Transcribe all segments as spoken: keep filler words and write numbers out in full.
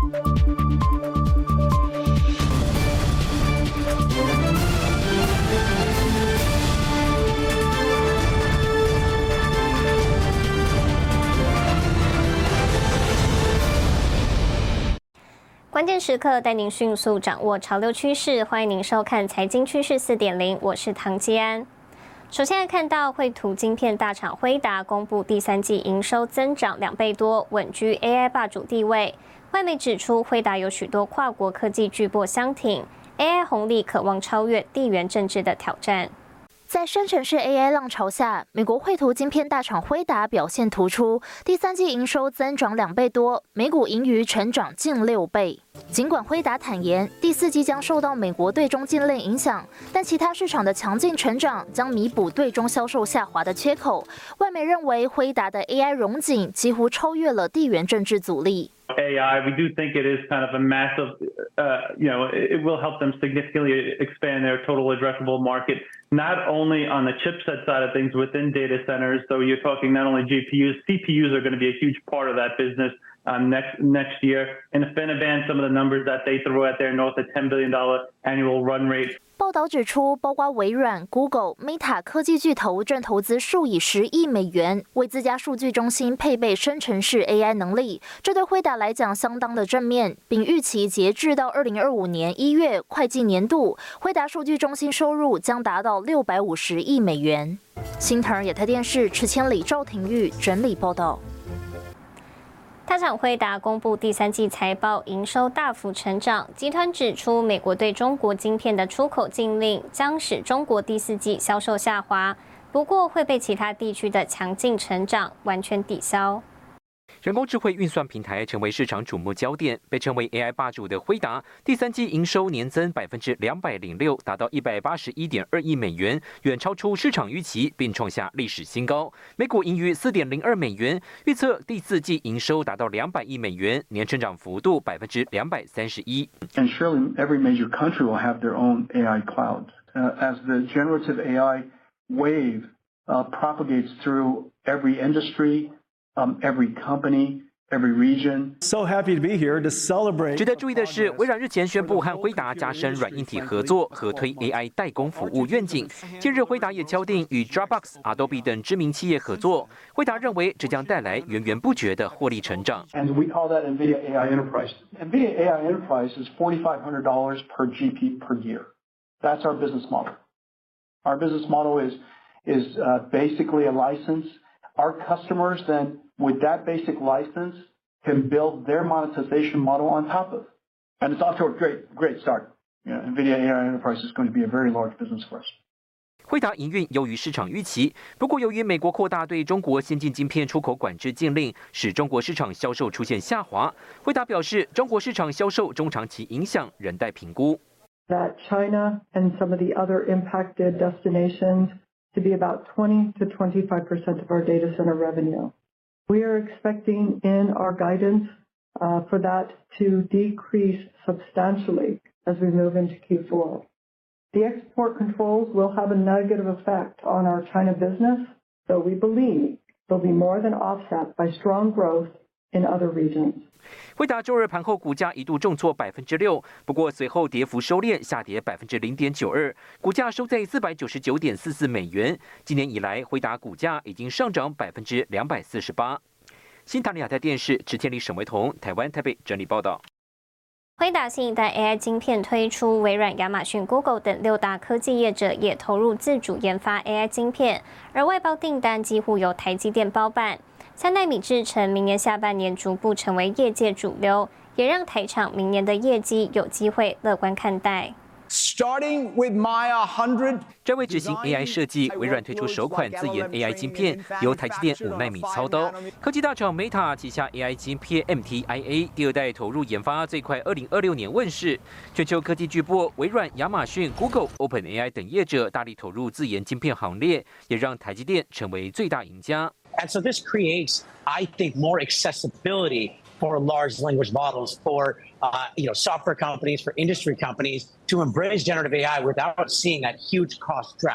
关键时刻带您迅速掌握潮流趋势，欢迎您收看《财经趋势 四点零》，我是唐基安。首先来看到绘图晶片大厂辉达公布第三季营收增长两倍多，稳居 A I 霸主地位。外媒指出，辉达有许多跨国科技巨擘相挺 ，A I 红利渴望超越地缘政治的挑战。 在生成式 A I 浪潮下，美国绘图晶片大厂辉达表现突出，第三季营收增长两倍多，每股盈余成长近六倍。尽管辉达坦言，第四季将受到美国对中禁令影响，但其他市场的强劲成长将弥补对中销售下滑的缺口。外媒认为，辉达的 A I 荣景几乎超越了地缘政治阻力。 A I, we do think it is kind of a massive, uh, you know, it will help them significantly expand their total addressable market, not only on the chipset side of things within data centers. So you're talking not only G P Us, C P Us are going to be a huge part of that business um, next next year. And InfiniBand, some of the numbers that they throw out there, north of ten billion dollars annual run rate. 报道指出，包括微软、Google、Meta 科技巨头正投资数以十亿美元，为自家数据中心配备生成式 A I 能力。这对辉达来讲相当的正面，并预期截至到二零二五年一月会计年度，辉达数据中心收入将达到六百五十亿美元。新唐人亚太电视池千里、赵廷玉整理报道。 大厂辉达公布第三季财报，营收大幅成长。集团指出，美国对中国晶片的出口禁令将使中国第四季销售下滑，不过会被其他地区的强劲成长完全抵消。 人工智慧运算平台成为市场瞩目焦点，被称为 A I 霸主的辉达，第三季营收年增百分之两百零六，达到一百八十一点二亿美元，远超出市场预期，并创下历史新高。每股盈余四点零二美元，预测第四季营收达到两百亿美元，年成长幅度百分之两百三十一。 And surely every major country will have their own A I clouds uh, as the generative A I wave uh, propagates through every industry. Um, every company, every region. So happy to be here to celebrate. 值得注意的是，微软日前宣布和辉达加深软硬体合作，合推 A I 代工服务愿景。近日，辉达也敲定与 Dropbox、Adobe 等知名企业合作。辉达认为这将带来源源不绝的获利成长。 And we call that NVIDIA A I Enterprise. NVIDIA A I Enterprise is forty-five hundred dollars per G P per year. That's our business model. Our business model is is uh, basically a license. Our customers then, with that basic license, can build their monetization model on top of. And it's off to a great, great start. You know, NVIDIA A I Enterprise is going to be a very large business for us. 辉达营运优于市场预期，不过由于美国扩大对中国先进晶片出口管制禁令，使中国市场销售出现下滑。辉达表示，中国市场销售中长期影响仍待评估。 That China and some of the other impacted destinations to be about twenty to twenty-five percent of our data center revenue. We are expecting in our guidance uh, for that to decrease substantially as we move into Q four. The export controls will have a negative effect on our China business, though we believe they'll be more than offset by strong growth in other regions. 辉达周二盘后股价一度重挫百分之六，不过随后跌幅收敛，下跌百分之零点九二，股价收在四百九十九点四四美元。今年以来，辉达股价已经上涨百分之两百四十八。新唐人亚太电视池千里、沈维彤，台湾台北整理报道。 辉达新一代 A I 晶片推出，微软、亚马逊、Google 等六大科技业者也投入自主研发 A I 晶片，而外包订单几乎由台积电包办。三奈米制程明年下半年逐步成为业界主流，也让台厂明年的业绩有机会乐观看待。 Starting with Maya one hundred， 专为执行 A I 设计，微软推出首款自研 A I 晶片，由台积电五奈米操刀。科技大厂 Meta 旗下 A I 晶片 M T I A 第二代投入研发，最快二零二六年问世。全球科技巨擘微软、亚马逊、Google、OpenAI 等业者大力投入自研晶片行列，也让台积电成为最大赢家。 And so this creates, I think, more accessibility for large language models, for uh, you know, software companies, for industry companies to embrace generative A I without seeing that huge cost drag.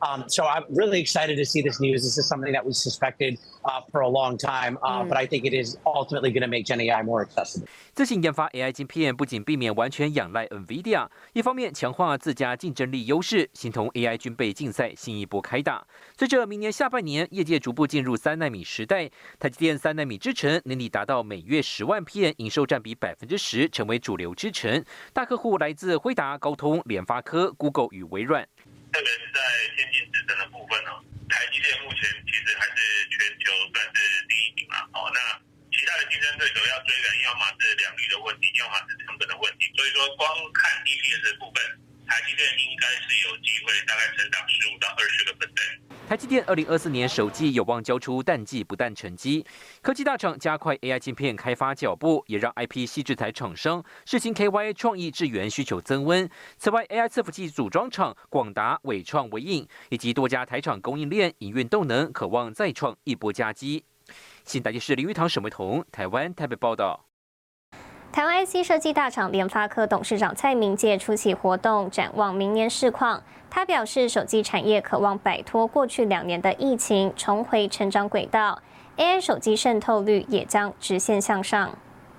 Um, so I'm really excited to see this news. This is something that we suspected uh, for a long time, uh, but I think it is ultimately going to make Gen A I more accessible. 自行研发 A I 晶片，不仅避免完全仰赖 NVIDIA， 一方面强化自家竞争力优势，形同 A I 军备竞赛新一波开打。随着明年下半年，业界逐步进入三奈米时代，台积电三奈米制程年底达到每月十万片，营收占比百分之十，成为主流制程。大客户来自辉达、高通、联发科、Google 与微软。 特别是在先进制程的部分哦，台积电目前其实还是全球算是第一名嘛。哦，那其他的竞争对手要追赶，要么是良率的问题，要么是成本的问题。所以说，光看 E P S 的部分，台积电应该是有机会大概成长十五到二十个 percent。 台积电二零二四年首季有望交出淡季不淡成绩。科技大厂加快 A I 晶片开发脚步，也让 I P 矽智财厂商世芯 K Y 创意智源需求增温。此外 ，A I 伺服器组装厂广达、伟创、微影以及多家台厂供应链营运动能，渴望再创一波佳绩。新台电视林玉堂、沈维彤，台湾台北报道。 台湾 I C 设计大厂联发科董事长蔡明介出席活动，展望明年市况。他表示，手机产业渴望摆脱过去两年的疫情，重回成长轨道。A I 手机渗透率也将直线向上。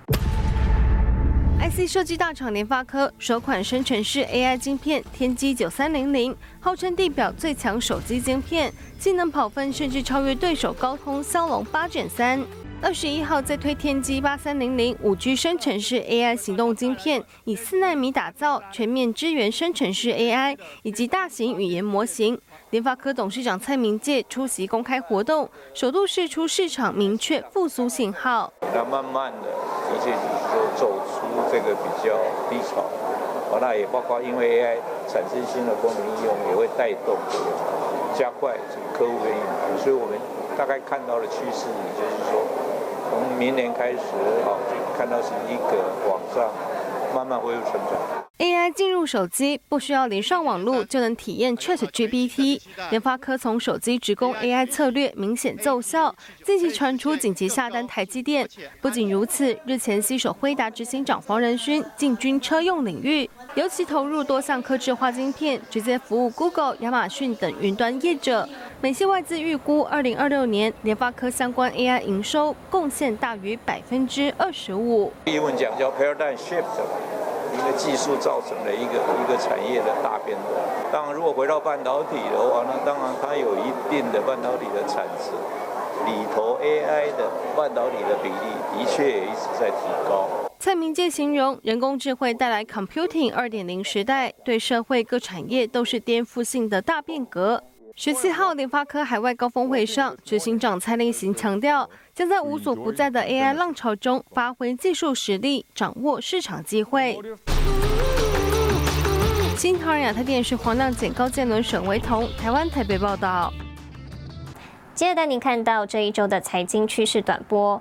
I C 设计大厂联发科首款生成式 A I 晶片天玑九三零零，号称地表最强手机晶片，性能跑分甚至超越对手高通骁龙八 Gen 三。二十一号再推天玑八三零零五 G 生成式 A I 行动晶片，以四奈米打造，全面支援生成式 A I 以及大型语言模型。联发科董事长蔡明介出席公开活动，首度释出市场明确复苏信号。 那慢慢的，的确就走出这个比较低潮。哦，那也包括因为 A I 产生新的功能应用，也会带动这个加快客户的应用，所以我们大概看到的趋势，也就是说。从明年开始，好，就看到是一个往上慢慢恢复成长。 A I 进入手机，不需要连上网路就能体验 ChatGPT。联发科从手机直供 A I 策略明显奏效，近期传出紧急下单台积电。不仅如此，日前携手辉达执行长黄仁勋进军车用领域，尤其投入多项客制化晶片，直接服务 Google、亚马逊等云端业者。美系外资预估，二零二六年联发科相关 A I 营收贡献大于百分之二十五。 英文讲叫 paradigm shift。一个技术造成的一个一个产业的大变动。当然，如果回到半导体的话，那当然它有一定的半导体的产值，里头 A I 的半导体的比例的确也一直在提高。 蔡明介形容，人工智慧带来 Computing 二点零时代，对社会各产业都是颠覆性的大变革。十七号联发科海外高峰会上，执行长蔡力行强调，将在无所不在的 A I 浪潮中发挥技术实力，掌握市场机会。新唐人亚太电视黄亮简、高建伦、沈维彤，台湾台北报道。 接着带您看到这一周的财经趋势短波。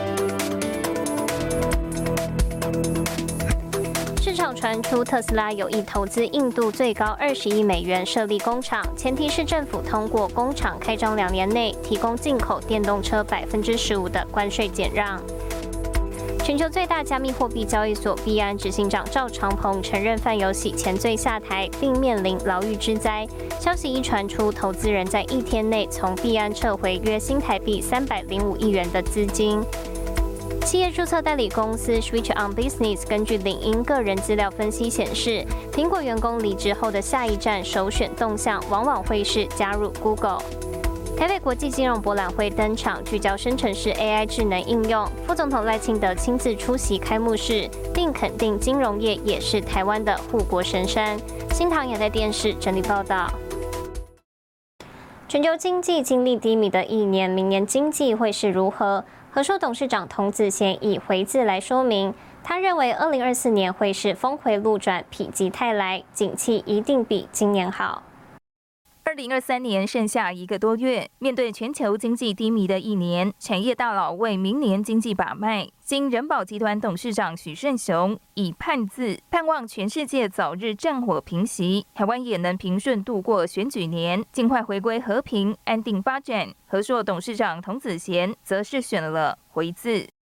市场传出特斯拉有意投资印度最高二十亿美元设立工厂，前提是政府通过工厂开张两年内提供进口电动车百分之十五的关税减让。全球最大加密货币交易所币安执行长赵长鹏承认犯有洗钱罪下台，并面临牢狱之灾。消息一传出，投资人在一天内从币安撤回约新台币三百零五亿元的资金。企业注册代理公司 Switch on Business 根据领英个人资料分析显示，苹果员工离职后的下一站首选动向往往会是加入 Google。台北国际金融博览会登场，聚焦生成式 A I 智能应用。副总统赖清德亲自出席开幕式，并肯定金融业也是台湾的护国神山。新唐也在电视整理报道。全球经济经历低迷的一年，明年经济会是如何？和硕董事长童子贤以回字来说明，他认为二零二四年会是峰回路转、否极泰来，景气一定比今年好。 二零二三年剩下一个多月，面对全球经济低迷的一年，产业大佬为明年经济把脉。经人保集团董事长许胜雄以盼字盼望全世界早日战火平息，台湾也能平顺度过选举年，尽快回归和平安定发展。和硕董事长童子贤则是选了回字。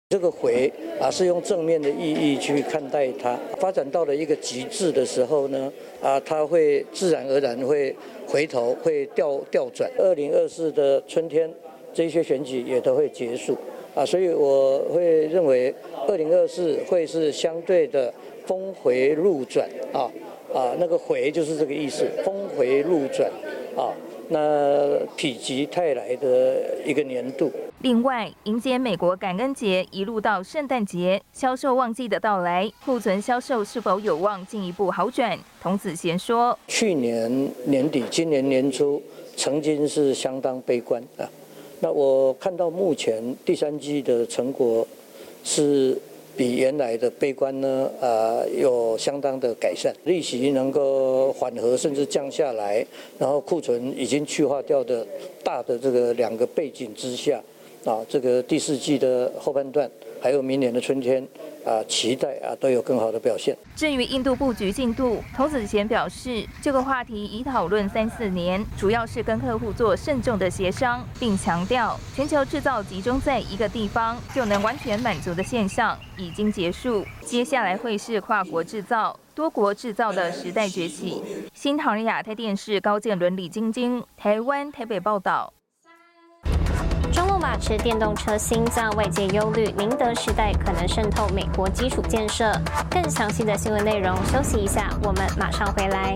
这个回啊是用正面的意义去看待它，发展到了一个极致的时候呢，啊，它会自然而然会回头，会调调转。二零二四的春天，这些选举也都会结束啊，所以我会认为二零二四会是相对的峰回路转啊啊，那个回就是这个意思，峰回路转啊。那否极泰来的一个年度。 另外，迎接美国感恩节一路到圣诞节，销售旺季的到来，库存销售是否有望进一步好转？童子贤说， 去年年底、今年年初曾经是相当悲观啊。那我看到目前第三季的成果是比原来的悲观呢，呃，有相当的改善，利息能够缓和甚至降下来，然后库存已经去化掉的大的这个两个背景之下，啊，这个第四季的后半段，还有明年的春天，啊，期待啊都有更好的表现。 至于印度布局进度，童子贤表示，这个话题已讨论三四年，主要是跟客户做慎重的协商，并强调全球制造集中在一个地方就能完全满足的现象已经结束，接下来会是跨国制造、多国制造的时代崛起。新唐人亚太电视高建伦、李晶晶，台湾台北报道。 中路马驰电动车心脏，外界忧虑宁德时代可能渗透美国基础建设。更详细的新闻内容，休息一下，我们马上回来。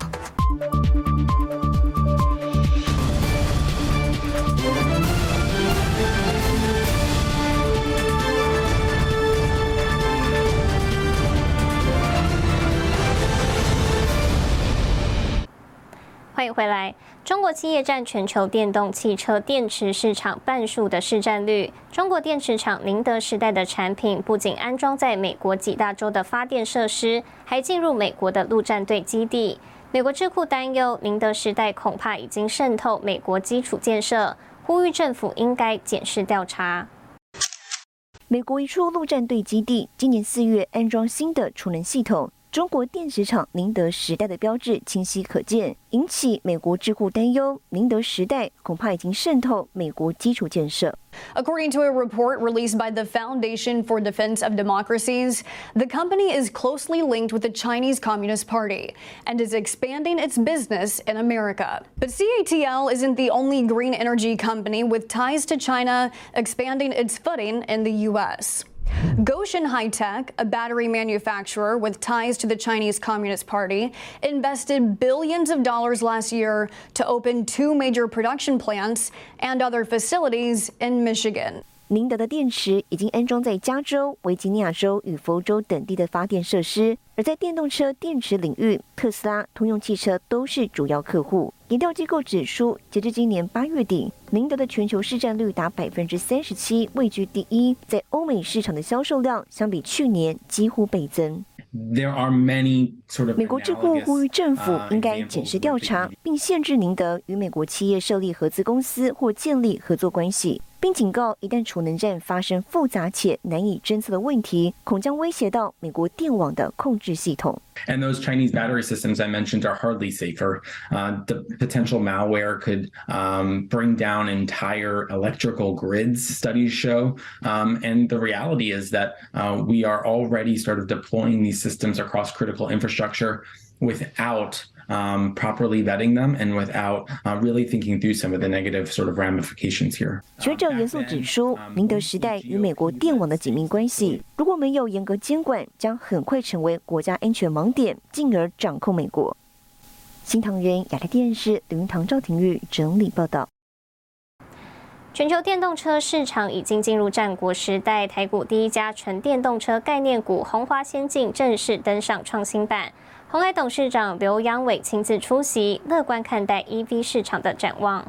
欢迎回来。中国企业占全球电动汽车电池市场半数的市占率。中国电池厂宁德时代的产品不仅安装在美国几大洲的发电设施，还进入美国的陆战队基地。美国智库担忧，宁德时代恐怕已经渗透美国基础建设，呼吁政府应该检视调查。 美国一处陆战队基地今年四月安装新的储能系统。中国电池厂宁德时代的标志清晰可见，引起美国智库担忧，宁德时代恐怕已经渗透美国基础建设。 According to a report released by the Foundation for Defense of Democracies, the company is closely linked with the Chinese Communist Party and is expanding its business in America. But C A T L isn't the only green energy company with ties to China expanding its footing in the U S. Goshen High-Tech, a battery manufacturer with ties to the Chinese Communist Party, invested billions of dollars last year to open two major production plants and other facilities in Michigan. 宁德的电池已经安装在加州、维吉尼亚州与佛州等地的发电设施，而在电动车电池领域，特斯拉、通用汽车都是主要客户。研调机构指出，截至今年八月底，宁德的全球市占率达百分之三十七，位居第一。在欧美市场的销售量相比去年几乎倍增。 There are many sort of 美国智库呼吁政府应该检视调查，并限制宁德与美国企业设立合资公司或建立合作关系，并警告一旦储能站发生复杂且难以侦测的问题，恐将威胁到美国电网的控制系统。 And those Chinese battery systems I mentioned are hardly safer. Uh, the potential malware could um, bring down entire electrical grids, studies show. Um, and the reality is that uh, we are already sort of deploying these systems across critical infrastructure without Um, properly vetting them and without uh, really thinking through some of the negative sort of ramifications here. 学者严肃指出，宁德时代与美国电网的紧密关系，如果没有严格监管，将很快成为国家安全盲点，进而掌控美国。新唐人亚太电视李云堂、赵廷玉整理报道。 全球电动车市场已经进入战国时代，台股第一家纯电动车概念股鸿华先进正式登上创新板。鸿海董事长刘扬伟亲自出席，乐观看待 E V 市场的展望。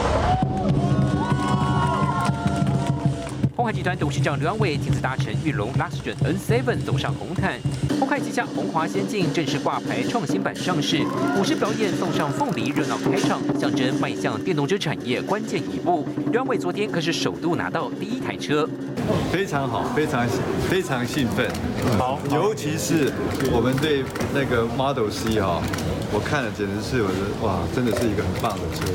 鸿海集团董事长刘扬伟亲自搭乘裕隆 Luxgen N 七 走上红毯。鸿海旗下鸿华先进正式挂牌创新版上市，舞狮表演送上凤梨，热闹开场，象征迈向电动车产业关键一步。刘扬伟昨天可是首度拿到第一台车， 非常好，非常非常兴奋。好，尤其是我们对那个 Model C 哈，我看了简直是我的哇，真的是一个很棒的车子。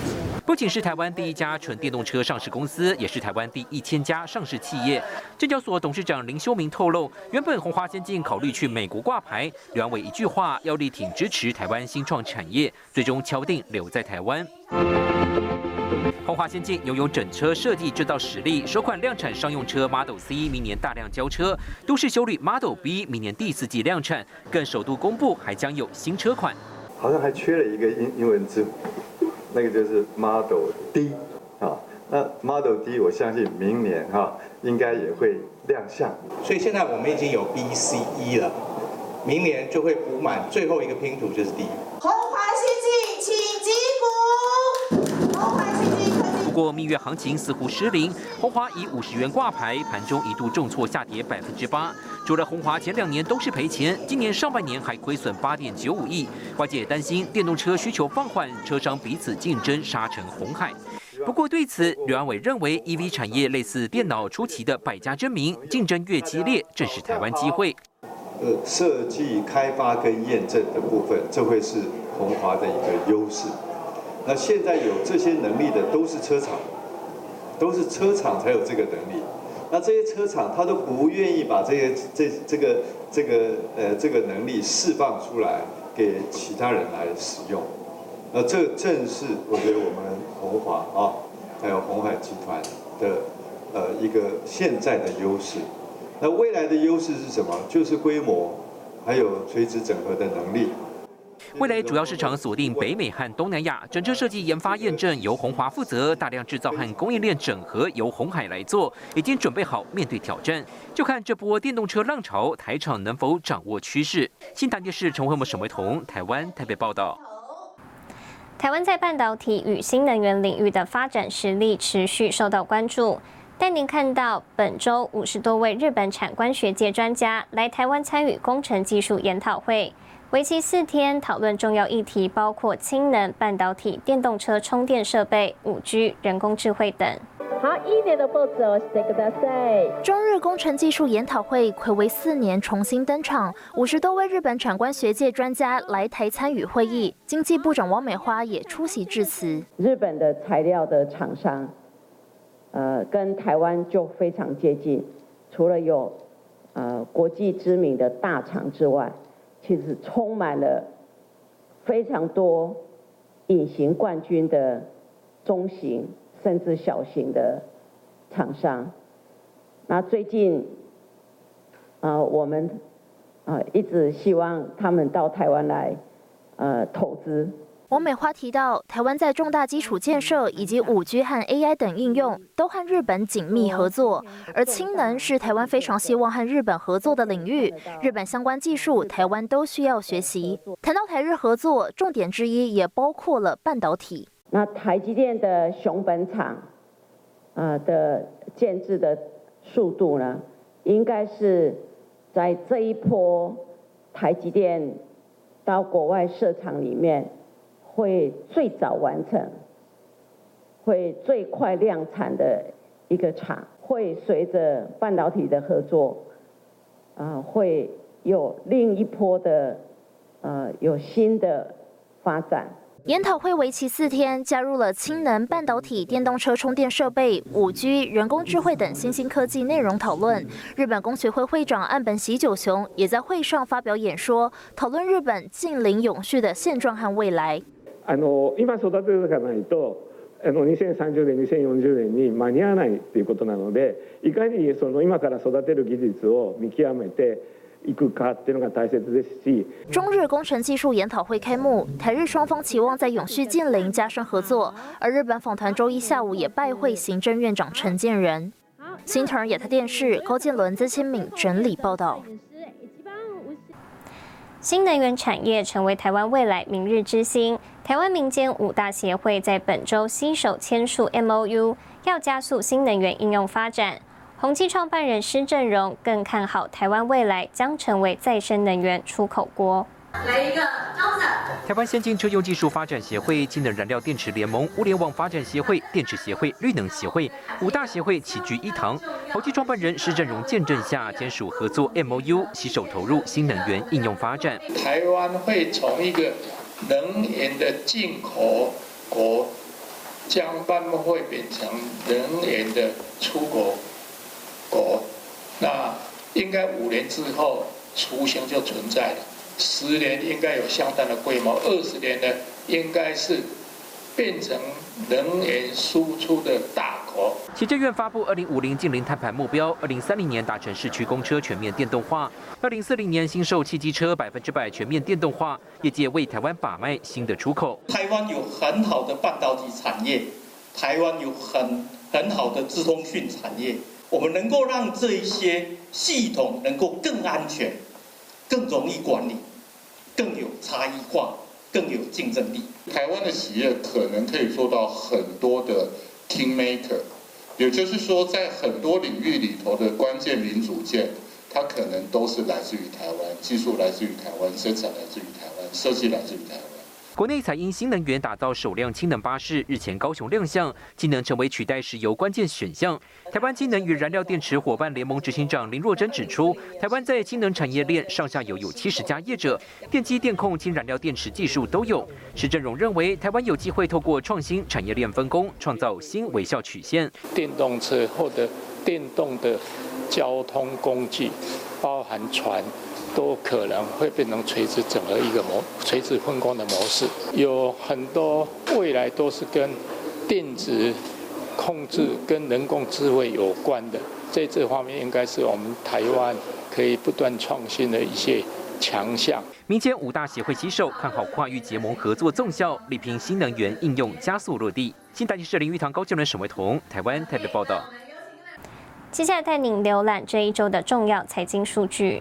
不仅是台湾第一家纯电动车上市公司，也是台湾第一千家上市企业。证交所董事长林修明透露，原本鸿华先进考虑去美国挂牌，刘安伟一句话要力挺支持台湾新创产业，最终敲定留在台湾。鸿华先进拥有整车设计制造实力，首款量产商用车 Model C 明年大量交车，都市休旅 Model B 明年第四季量产，更首度公布还将有新车款。 好像还缺了一个英英文字母，那个就是 Model D 啊。那 Model D 我相信明年哈应该也会亮相。 所以现在我们已经有 B、C、E 了，明年就会补满最后一个拼图就是 D。 鸿华先进，请击鼓。鸿华先进。 不过蜜月行情似乎失灵，鸿华以五十元挂牌，盘中一度重挫下跌百分之八。除了鸿华前两年都是赔钱，今年上半年还亏损八点九五亿。外界担心电动车需求放缓，车商彼此竞争杀成红海。不过对此，刘安伟认为 E V 产业类似电脑初期的百家争鸣，竞争越激烈，正是台湾机会。 呃，设计、开发跟验证的部分，这会是鸿华的一个优势。那现在有这些能力的都是车厂，都是车厂才有这个能力。那这些车厂他都不愿意把这些这这个这个呃这个能力释放出来给其他人来使用。那这正是我觉得我们鸿华啊，还有鸿海集团的呃一个现在的优势。那未来的优势是什么？就是规模，还有垂直整合的能力。 未来主要市场锁定北美和东南亚，整车设计研发验证由鸿华负责，大量制造和供应链整合由鸿海来做，已经准备好面对挑战。就看这波电动车浪潮，台厂能否掌握趋势。新唐电视陈慧文、沈维彤，台湾台北报道。 台湾在半导体与新能源领域的发展实力持续受到关注。带您看到本周五十多位日本产官学界专家来台湾参与工程技术研讨会。为期四天，讨论重要议题包括氢能、半导体、电动车充电设备、五 G、人工智慧等。 好，いいねのポーズをしてください。 中日工程技术研讨会睽违四年重新登场，五十多位日本产官学界专家来台参与会议，经济部长王美花也出席致辞。 日本的材料的厂商，呃，跟台湾就非常接近，除了有呃国际知名的大厂之外。其实充满了非常多隐形冠军的中型甚至小型的厂商。那最近，呃，我们呃一直希望他们到台湾来，呃，投资。 王美花提到，台湾在重大基础建设以及五 G 和 A I 等应用都和日本紧密合作，而氢能是台湾非常希望和日本合作的领域。日本相关技术，台湾都需要学习。谈到台日合作，重点之一也包括了半导体。 那台积电的熊本厂，呃的建制的速度呢，应该是在这一波台积电到国外设厂里面。会最早完成，会最快量产的一个厂，会随着半导体的合作，啊、呃，会有另一波的，呃，有新的发展。 研讨会为期四天，加入了氢能、半导体、电动车充电设备、五 G、人工智慧等新兴科技内容讨论。日本工学会会长岸本喜久雄也在会上发表演说，讨论日本近邻永续的现状和未来。 あの今育てていかないとあのにせんさんじゅうねんにせんよんじゅうねんに間に合わないということなので、いかにその今から育てる技術を見極めていくかっていうのが大切ですし。 中日工程技术研讨会开幕，台日双方期望在永续近邻加深合作，而日本访团周一下午也拜会行政院长陈建仁。新唐人亚太电视高建伦、曾千敏整理报道。 新能源产业成为台湾未来明日之星。台湾民间五大协会在本周携手签署 M O U， 要加速新能源应用发展。宏基创办人施正荣更看好台湾未来将成为再生能源出口国。 来一个招子。 台湾先进车用技术发展协会、氢能燃料电池联盟、物联网发展协会、电池协会、绿能协会五大协会齐聚一堂。宏基创办人施正荣见证下，签署合作 M O U， 携手投入新能源应用发展。 台湾会从一个能源的进口国将班会变成能源的出口国，那应该五年之后雏形就存在了，十年应该有相当的规模，二十年呢应该是变成能源输出的大国。 行政院发布二零五零净零碳排目标，二零三零年达成市区公车全面电动化，二零四零年新售汽机车百分之百全面电动化，业界为台湾把脉新的出口。 台湾有很好的半导体产业，台湾有很很好的资通讯产业，我们能够让这一些系统能够更安全、更容易管理、更有差异化、更有竞争力。 台湾的企业可能可以做到很多的 kingmaker， 也就是说，在很多领域里头的关键零组件，它可能都是来自于台湾，技术来自于台湾，生产来自于台湾，设计来自于台湾。 国内采因新能源打造首辆氢能巴士，日前高雄亮相，氢能成为取代石油关键选项。台湾氢能与燃料电池伙伴联盟执行长林若珍指出，台湾在氢能产业链上下游有七十家业者，电机、电控、氢燃料电池技术都有。施正荣认为，台湾有机会透过创新产业链分工，创造新微笑曲线。 电动车或者电动的交通工具，包含船，都可能会变成垂直整合一个模垂直分工的模式，有很多未来都是跟电子控制、跟人工智慧有关的，在这方面应该是我们台湾可以不断创新的一些强项。 民间五大协会携手看好跨域结盟合作纵效，力拼新能源应用加速落地。新台记者林玉堂、高雄人沈维彤，台湾台北报道。 接下来带您浏览这一周的重要财经数据。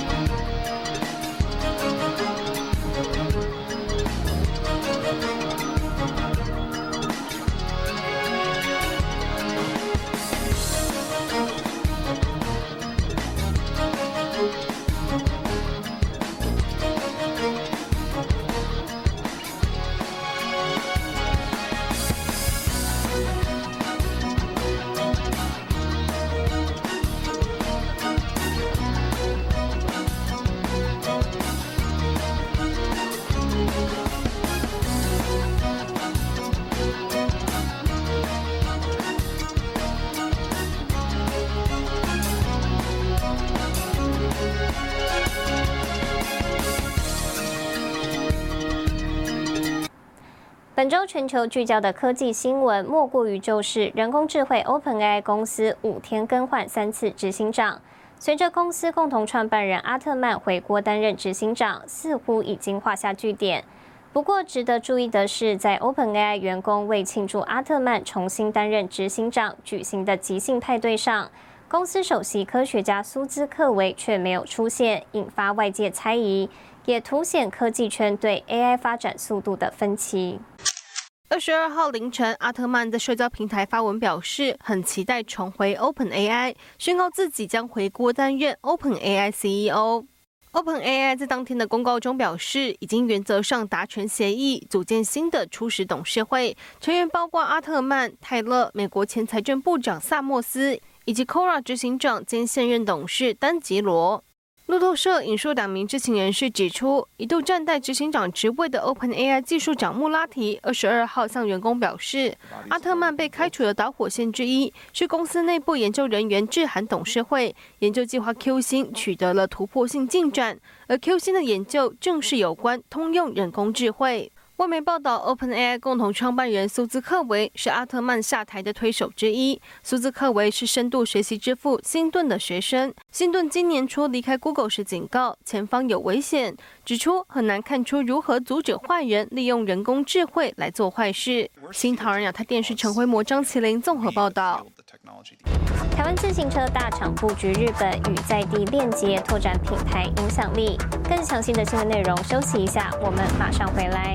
本周全球聚焦的科技新闻，莫过于就是人工智慧 OpenAI 公司五天更换三次执行长。随着公司共同创办人阿特曼回国担任执行长，似乎已经画下句点。不过，值得注意的是，在 OpenAI 员工为庆祝阿特曼重新担任执行长举行的即兴派对上，公司首席科学家苏兹克维却没有出现，引发外界猜疑，也凸显科技圈对 A I 发展速度的分歧。 二十二号凌晨，阿特曼在社交平台发文表示，很期待重回 OpenAI， 宣告自己将回国担任 OpenAI C E O。OpenAI 在当天的公告中表示，已经原则上达成协议，组建新的初始董事会，成员包括阿特曼、泰勒、美国前财政部长萨默斯，以及 Quora 执行长兼现任董事丹吉罗。路透社引述两名知情人士指出，一度站在执行长职位的 OpenAI 技术长穆拉提二十二号向员工表示，阿特曼被开除的导火线之一是公司内部研究人员致函董事会，研究计划 Q 星取得了突破性进展，而 Q 星的研究正是有关通用人工智慧。外媒报道 ，OpenAI 共同创办人苏兹克维是阿特曼下台的推手之一。苏兹克维是深度学习之父辛顿的学生。辛顿今年初离开 Google 时警告前方有危险，指出很难看出如何阻止坏人利用人工智慧来做坏事。新唐人亚太电视陈辉模、张麒麟综合报道。 台湾自行车大厂布局日本，与在地链接，拓展品牌影响力。更详细的新闻内容，休息一下，我们马上回来。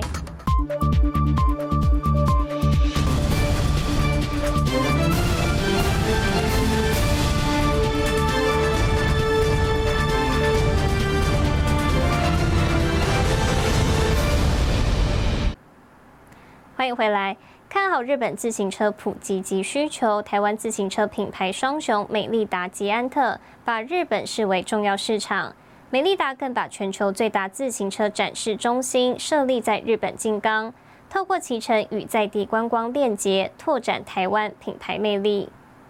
欢迎回来。看好日本自行车普及及需求，台湾自行车品牌双雄美利达、捷安特把日本视为重要市场。美利达更把全球最大自行车展示中心设立在日本静冈。 透过骑乘与在地观光链接，拓展台湾品牌魅力。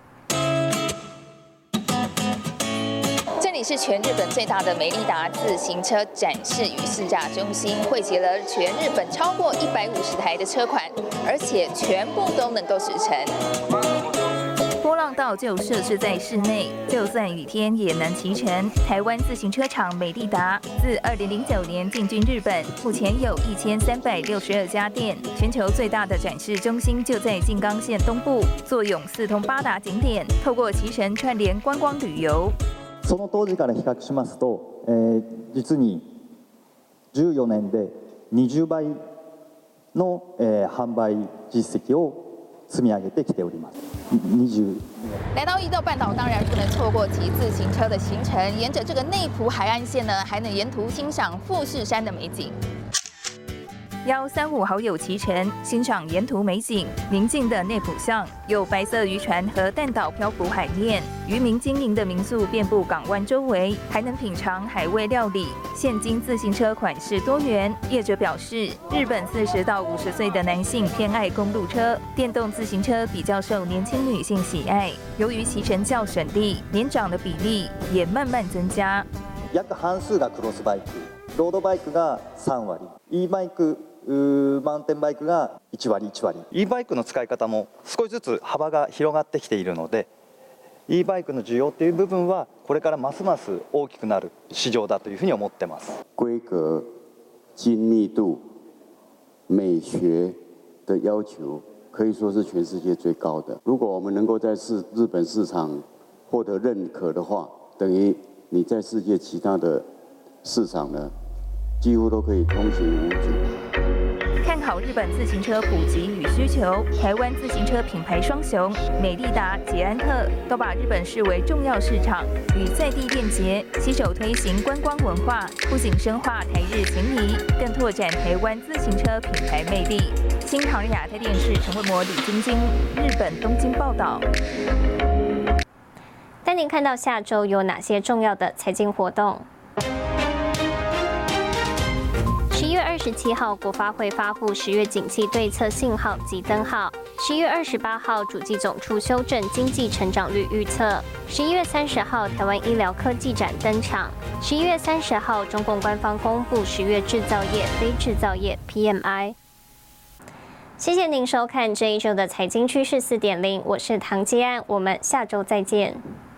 这里是全日本最大的美利达自行车展示与试驾中心，汇集了全日本超过一百五十台的车款，而且全部都能够驶乘。波浪道就设置在室内，就算雨天也能骑乘。台湾自行车厂美利达自二零零九年进军日本，目前有一千三百六十二家店，全球最大的展示中心就在静冈县东部，坐拥四通八达景点，透过骑乘串联观光旅游。 その当時から比較しますと、えー、実にじゅうよねんでにじゅうばいの、えー、販売実績を積み上げてきております。にじゅう来到伊豆半岛，当然不能错过骑自行车的行程。沿着这个内埔海岸线呢，还能沿途欣赏富士山的美景。邀三五好友骑乘，欣赏沿途美景。宁静的内埔巷有白色渔船和淡岛漂浮海面，渔民经营的民宿遍布港湾周围，还能品尝海味料理。现今自行车款式多元，业者表示，日本四十到五十岁的男性偏爱公路车，电动自行车比较受年轻女性喜爱。由于骑乘较省力，年长的比例也慢慢增加。 約半数がクロスバイク、ロードバイクがさんわり、e バイクマウンテンバイクがいちわりいちわり、 e バイクの使い方も少しずつ幅が広がってきているので、 e バイクの需要という部分はこれからますます大きくなる市場だというふうに思ってます。 规格、精密度、美学的要求可以说是全世界最高的。如果我们能够在市日本市场获得认可的话，等于你在世界其他的市场呢，几乎都可以通行无阻。 看好日本自行车普及与需求，台湾自行车品牌双雄美利达、捷安特都把日本视为重要市场，与在地链接，携手推行观光文化，不仅深化台日情谊，更拓展台湾自行车品牌魅力。新唐亚太电视陈慧模、李晶晶，日本东京报道。 带您看到下周有哪些重要的财经活动。十一月二十七号，国发会发布十月景气对策信号及灯号。十一月二十八号，主计总处修正经济成长率预测。十一月三十号，台湾医疗科技展登场。十一月三十号，中共官方公布十月制造业、非制造业 P M I。谢谢您收看这一周的财经趋势四点零，我是唐基安，我们下周再见。